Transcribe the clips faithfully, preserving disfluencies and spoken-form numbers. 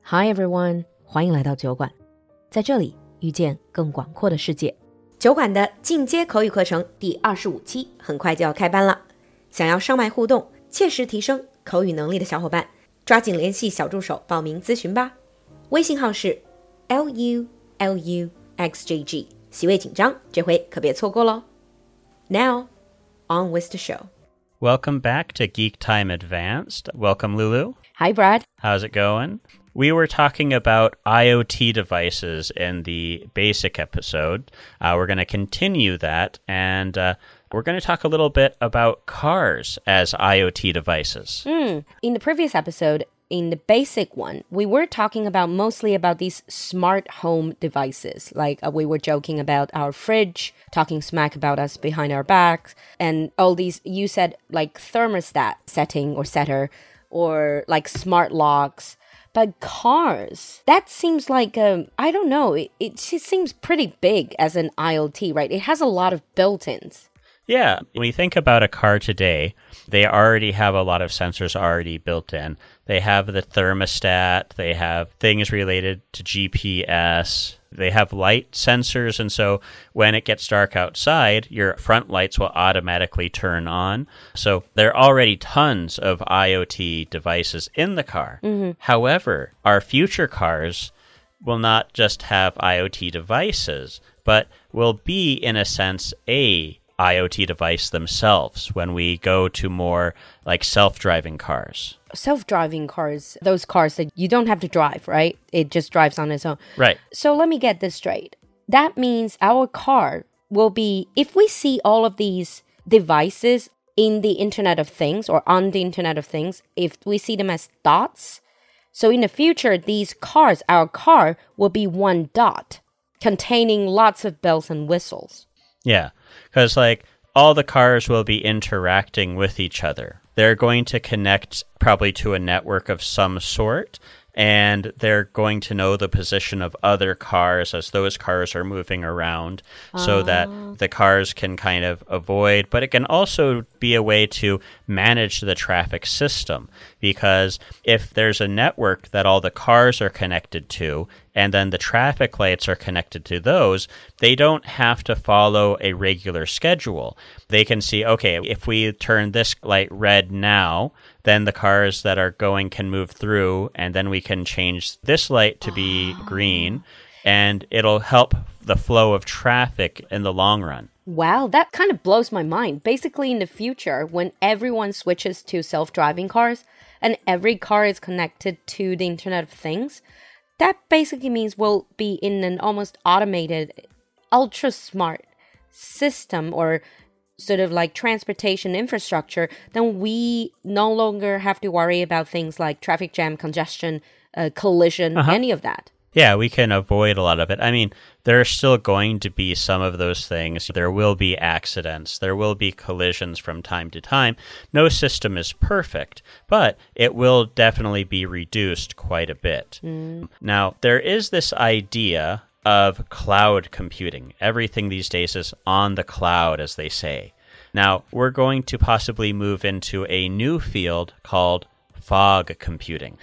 Hi everyone， 欢迎来到酒馆，在这里遇见更广阔的世界。酒馆的进阶口语课程第二十五期很快就要开班了，想要上麦互动、切实提升口语能力的小伙伴，抓紧联系小助手报名咨询吧。微信号是 L U L U X J G， 席位紧张，这回可别错过咯。Now, on with the show.Welcome back to Geek Time Advanced. Welcome, Lulu. Hi, Brad. How's it going? We were talking about IoT devices in the basic episode. Uh, we're going to continue that, and uh, we're going to talk a little bit about cars as IoT devices. Mm. In the previous episode, in the basic one, we were talking about mostly about these smart home devices. Like uh, we were joking about our fridge, talking smack about us behind our backs, and all these, you said like thermostat setting or setter, or like smart locks. But cars, that seems like, um, I don't know, it, it just seems pretty big as an IoT, right? It has a lot of built-ins. Yeah, when you think about a car today, they already have a lot of sensors already built in. They have the thermostat, they have things related to G P S, they have light sensors, and so when it gets dark outside, your front lights will automatically turn on. So there are already tons of IoT devices in the car. Mm-hmm. However, our future cars will not just have IoT devices, but will be, in a sense, a IoT device themselves when we go to more like self-driving cars. Self-driving cars, those cars that you don't have to drive, right? It just drives on its own. Right. So let me get this straight. That means our car will be, if we see all of these devices in the Internet of Things or on the Internet of Things, if we see them as dots, so in the future, these cars, our car will be one dot containing lots of bells and whistles. Yeah, because like all the cars will be interacting with each other. They're going to connect probably to a network of some sort, and they're going to know the position of other cars as those cars are moving around so uh. that the cars can kind of avoid, but it can also be a way to manage the traffic system, because if there's a network that all the cars are connected to, and then the traffic lights are connected to those, they don't have to follow a regular schedule. They can see, okay, if we turn this light red now, then the cars that are going can move through, and then we can change this light to be oh. green, and it'll help the flow of traffic in the long run. Wow, that kind of blows my mind. Basically, in the future, when everyone switches to self-driving cars, and every car is connected to the Internet of Things, that basically means we'll be in an almost automated, ultra-smart system or sort of like transportation infrastructure. Then we no longer have to worry about things like traffic jam, congestion, uh, collision, uh-huh. any of that. Yeah, we can avoid a lot of it. I mean, there are still going to be some of those things. There will be accidents. There will be collisions from time to time. No system is perfect, but it will definitely be reduced quite a bit. Mm. Now, there is this idea of cloud computing. Everything these days is on the cloud, as they say. Now, we're going to possibly move into a new field called fog computing.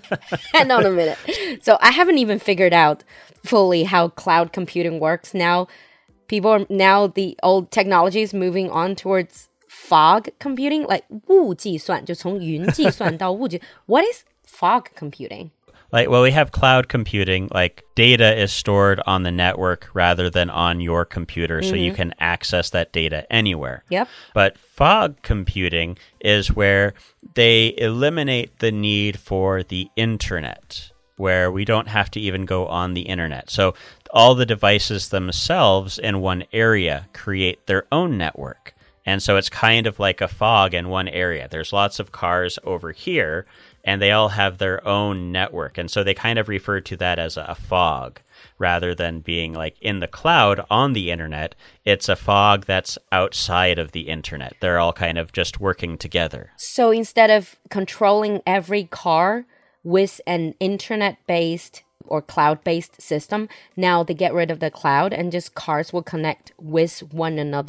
Hang on a minute. So I haven't even figured out fully how cloud computing works. Now, people are, now the old technology is moving on towards fog computing, like 雾计算, 就从云计算到雾计. What is fog computing? Like, well, we have cloud computing, like data is stored on the network rather than on your computer, mm-hmm. so you can access that data anywhere. Yep. But fog computing is where they eliminate the need for the internet, where we don't have to even go on the internet. So all the devices themselves in one area create their own network. And so it's kind of like a fog in one area. There's lots of cars over here, and they all have their own network. And so they kind of refer to that as a fog rather than being like in the cloud on the internet. It's a fog that's outside of the internet. They're all kind of just working together. So instead of controlling every car with an internet-based or cloud-based system, now they get rid of the cloud and just cars will connect with one another?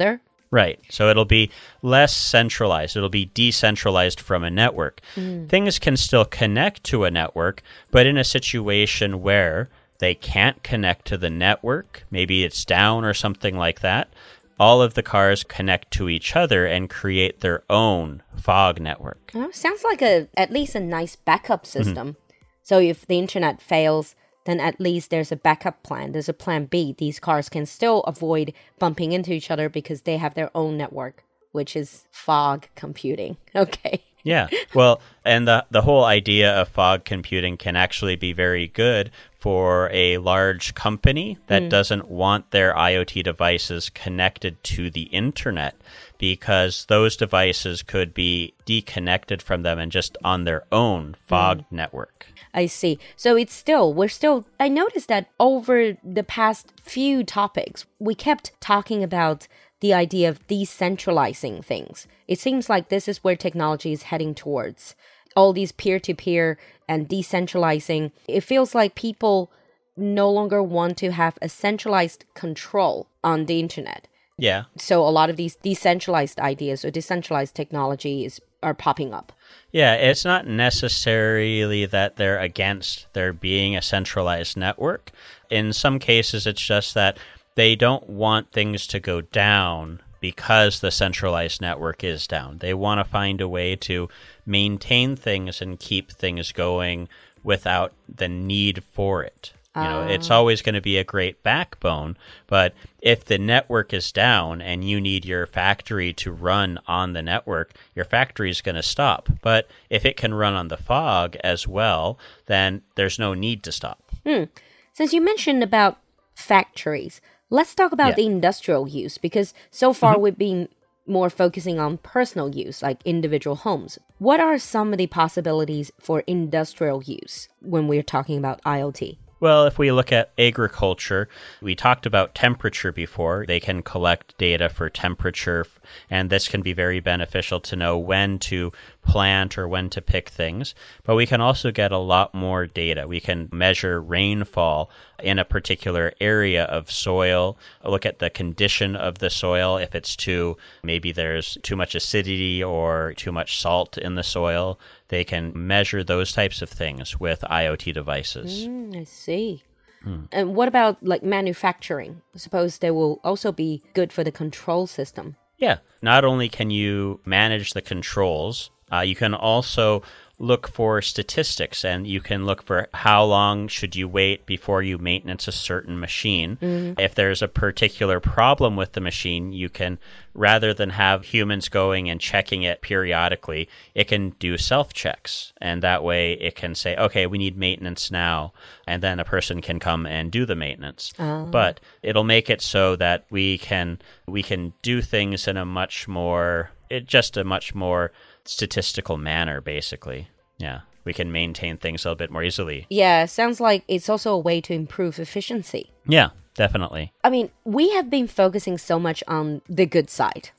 Right. So it'll be less centralized. It'll be decentralized from a network. Mm. Things can still connect to a network, but in a situation where they can't connect to the network, maybe it's down or something like that, all of the cars connect to each other and create their own fog network. Oh, sounds like a at least a nice backup system. Mm-hmm. So if the internet fails, then at least there's a backup plan. There's a plan B. These cars can still avoid bumping into each other because they have their own network, which is fog computing. Okay. Yeah. Well, and the the whole idea of fog computing can actually be very good for a large company that mm. doesn't want their IoT devices connected to the internet, because those devices could be deconnected from them and just on their own fog mm. network. I see. So it's still, we're still, I noticed that over the past few topics, we kept talking about the idea of decentralizing things. It seems like this is where technology is heading towards. All these peer-to-peer and decentralizing, it feels like people no longer want to have a centralized control on the internet. Yeah. So a lot of these decentralized ideas or decentralized technologies are popping up. Yeah, it's not necessarily that they're against there being a centralized network. In some cases, it's just that they don't want things to go down because the centralized network is down. They want to find a way to maintain things and keep things going without the need for it. You know, it's always going to be a great backbone, but if the network is down and you need your factory to run on the network, your factory is going to stop. But if it can run on the fog as well, then there's no need to stop. Hmm. Since you mentioned about factories, let's talk about yeah. the industrial use, because so far mm-hmm. we've been more focusing on personal use, like individual homes. What are some of the possibilities for industrial use when we're talking about IoT? Well, if we look at agriculture, we talked about temperature before. They can collect data for temperature, and this can be very beneficial to know when to plant or when to pick things. But we can also get a lot more data. We can measure rainfall in a particular area of soil, look at the condition of the soil. If it's too, maybe there's too much acidity or too much salt in the soil, they can measure those types of things with IoT devices. Mm, I see. Hmm. And what about like manufacturing? I suppose they will also be good for the control system. Yeah. Not only can you manage the controls, uh, you can also look for statistics, and you can look for how long should you wait before you maintenance a certain machine. Mm-hmm. If there's a particular problem with the machine, you can, rather than have humans going and checking it periodically, it can do self-checks. And that way it can say, okay, we need maintenance now. And then a person can come and do the maintenance. Oh. But it'll make it so that we can we can do things in a much more, it just a much more statistical manner, basically. Yeah, we can maintain things a little bit more easily. Yeah, sounds like it's also a way to improve efficiency. Yeah, definitely. I mean, we have been focusing so much on the good side,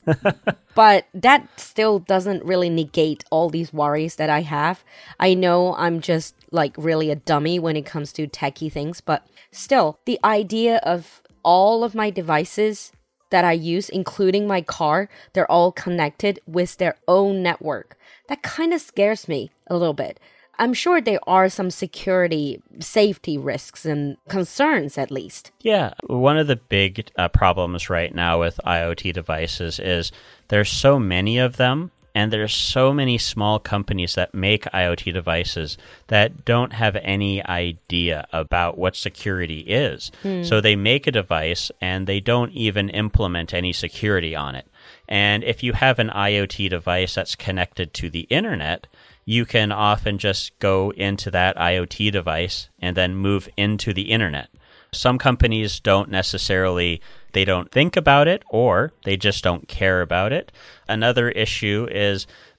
but that still doesn't really negate all these worries that I have. I know I'm just like really a dummy when it comes to techie things, but still, the idea of all of my devices that I use, including my car, they're all connected with their own network. That kind of scares me a little bit. I'm sure there are some security, safety risks and concerns at least. Yeah, one of the big uh, problems right now with IoT devices is there's so many of them, and there's so many small companies that make IoT devices that don't have any idea about what security is. Hmm. So they make a device and they don't even implement any security on it. And if you have an IoT device that's connected to the internet, you can often just go into that IoT device and then move into the internet. Some companies don't necessarily, they don't think about it, or they just don't care about it. Another issue is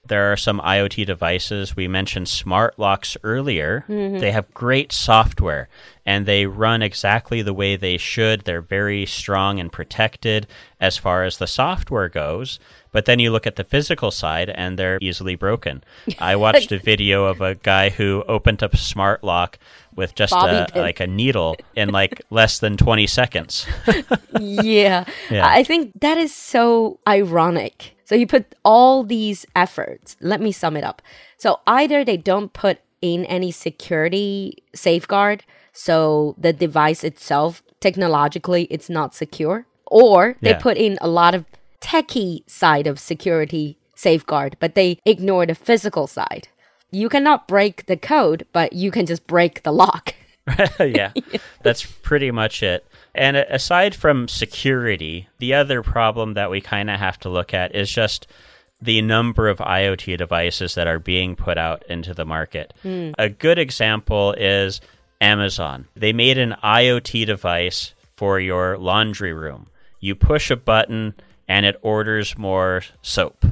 There are some IoT devices. We mentioned smart locks earlier. Mm-hmm. They have great software and they run exactly the way they should. They're very strong and protected as far as the software goes. But then you look at the physical side and they're easily broken. I watched a video of a guy who opened up a smart lock with just a, like a needle in like less than twenty seconds. yeah. yeah. I think that is so ironic. So you put all these efforts. Let me sum it up. So either they don't put in any security safeguard, so the device itself, technologically, it's not secure, or they yeah. put in a lot of techie side of security safeguard, but they ignore the physical side. You cannot break the code, but you can just break the lock. yeah, that's pretty much it. And aside from security, the other problem that we kind of have to look at is just the number of IoT devices that are being put out into the market. Mm. A good example is Amazon. They made an IoT device for your laundry room. You push a button and it orders more soap.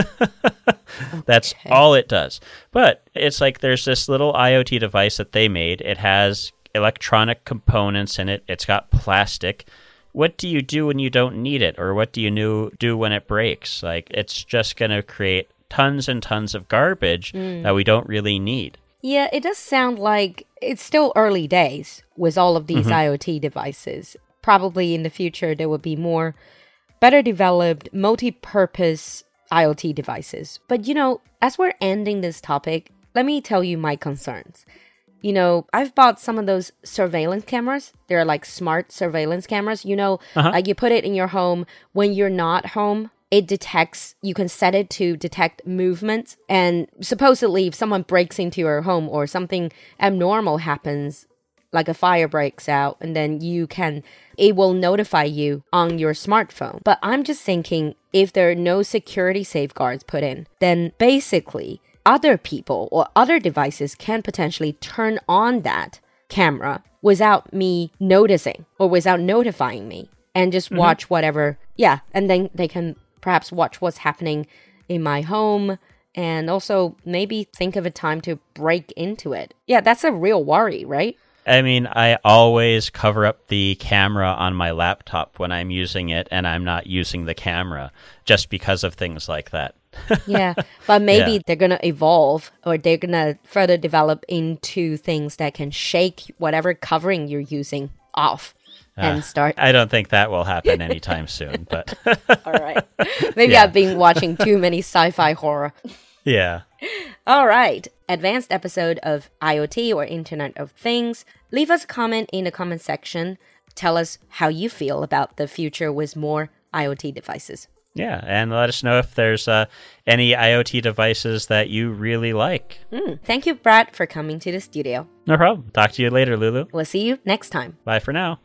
That's okay. all it does. But it's like there's this little IoT device that they made. It has electronic components in it. It's got plastic. What do you do when you don't need it? Or what do you do when it breaks? Like, it's just going to create tons and tons of garbage mm. that we don't really need. Yeah, it does sound like it's still early days with all of these mm-hmm. IoT devices. Probably in the future, there will be more better developed, multi-purpose IoT devices. But, you know, as we're ending this topic, let me tell you my concerns. You know, I've bought some of those surveillance cameras. They're like smart surveillance cameras. You know, uh-huh. like you put it in your home. When you're not home, it detects, you can set it to detect movement. And supposedly, if someone breaks into your home or something abnormal happens, like a fire breaks out, and then you can, it will notify you on your smartphone. But I'm just thinking, if there are no security safeguards put in, then basically other people or other devices can potentially turn on that camera without me noticing or without notifying me and just mm-hmm. watch whatever. Yeah. And then they can perhaps watch what's happening in my home and also maybe think of a time to break into it. Yeah, that's a real worry, right? I mean, I always cover up the camera on my laptop when I'm using it and I'm not using the camera just because of things like that. yeah, but maybe yeah. they're going to evolve or they're going to further develop into things that can shake whatever covering you're using off uh, and start. I don't think that will happen anytime soon, but. All right. Maybe yeah. I've been watching too many sci-fi horror. Yeah. All right. Advanced episode of IoT or Internet of Things. Leave us a comment in the comment section. Tell us how you feel about the future with more IoT devices. Yeah, and let us know if there's uh, any IoT devices that you really like. Mm, thank you, Brad, for coming to the studio. No problem. Talk to you later, Lulu. We'll see you next time. Bye for now.